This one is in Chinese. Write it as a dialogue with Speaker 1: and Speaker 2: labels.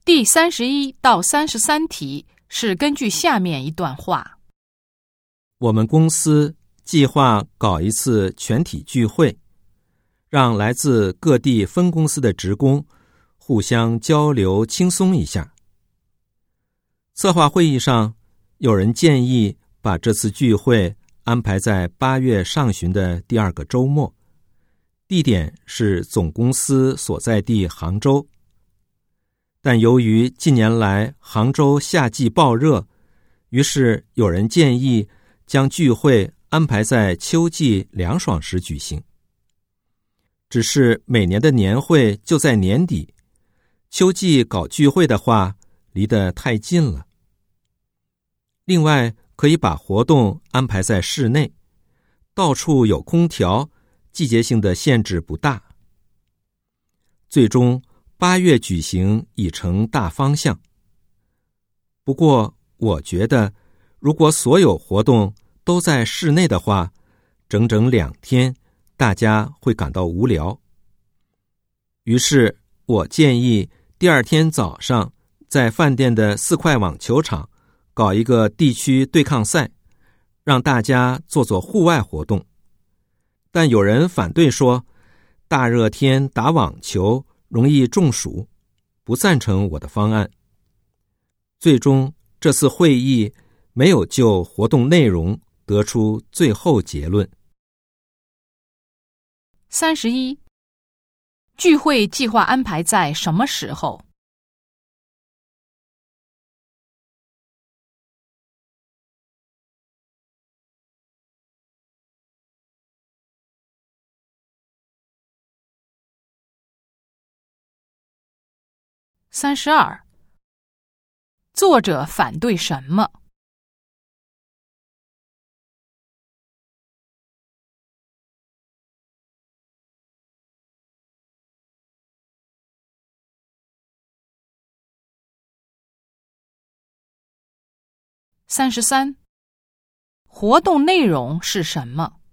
Speaker 1: 第31到33题是根据下面一段话。
Speaker 2: 我们公司计划搞一次全体聚会，让来自各地分公司的职工互相交流轻松一下。策划会议上，有人建议把这次聚会安排在8月上旬的第2个周末，地点是总公司所在地杭州。但由于近年来杭州夏季暴热，于是有人建议将聚会安排在秋季凉爽时举行。只是每年的年会就在年底，秋季搞聚会的话，离得太近了。另外，可以把活动安排在室内，到处有空调，季节性的限制不大。最终8月举行已成大方向。不过，我觉得如果所有活动都在室内的话，整整2天，大家会感到无聊。于是我建议第2天早上在饭店的4块网球场搞一个地区对抗赛，让大家做做户外活动。但有人反对说，大热天打网球容易中暑，不赞成我的方案。最终，这次会议没有就活动内容得出最后结论。
Speaker 1: 31. 聚会计划安排在什么时候？32. 作者反对什么？33. 活动内容是什么？